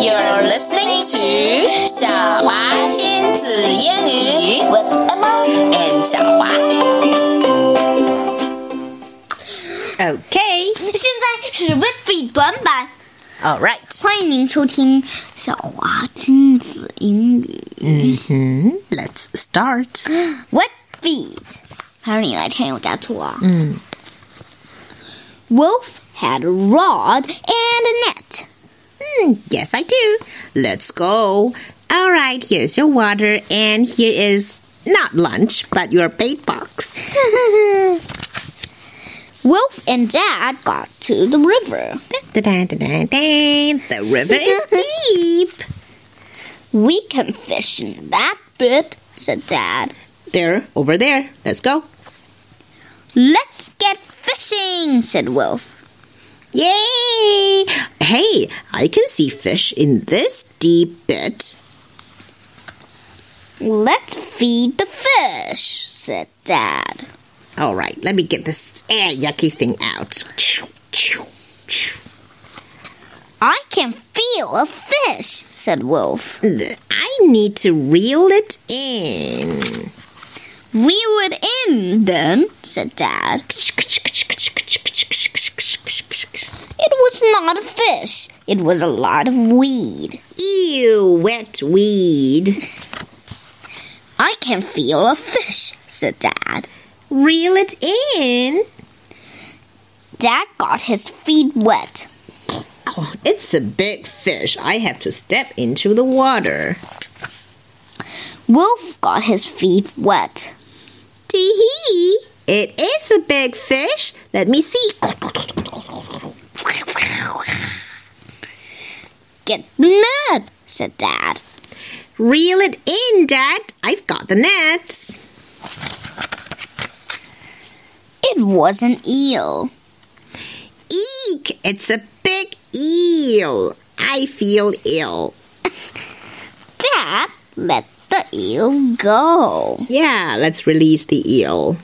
You're listening to 小华亲子英语 with Emma and 小华。OK， 现在是 Whitby 短板。 All right， 欢迎您收听小华亲子英语。 Let's start. Whitby， 还是你来添油加醋啊？Wolf had a rod and a net. Yes, I do. Let's go. All right, here's your water, and here is not lunch, but your bait box. Wolf and Dad got to the river. The river is deep. We can fish in that bit, said Dad. There, over there. Let's go. Let's get fishing, said Wolf. Yay! Hey, I can see fish in this deep bit. Let's feed the fish, said Dad. All right, let me get this yucky thing out. I can feel a fish, said Wolf. I need to reel it in. Reel it in, then, said Dad. It was not a fish. It was a lot of weed. Ew, wet weed. I can feel a fish, said Dad. Reel it in. Dad got his feet wet. Oh, it's a big fish. I have to step into the water. Wolf got his feet wet. Tee-hee. It is a big fish. Let me see. Get the net, said Dad. Reel it in, Dad. I've got the net. It was an eel. Eek! It's a big eel. I feel ill. Dad, let the eel go. Yeah, let's release the eel.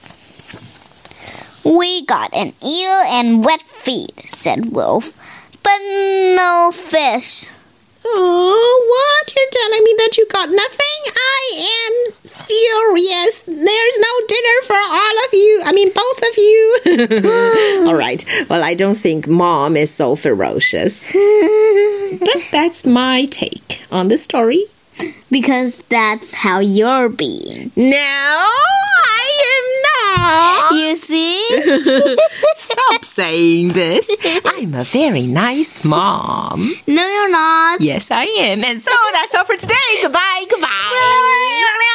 We got an eel and wet feet, said Wolf, but no fish. Oh, what? You're telling me that you got nothing? I am furious. There's no dinner for all of you. I mean, both of you. All right. Well, I don't think Mom is so ferocious. But that's my take on the story. Because that's how you're being. No, I am not. You see? Stop saying this. I'm a very nice mom. No, you're not. Yes, I am. And so that's all for today. Goodbye.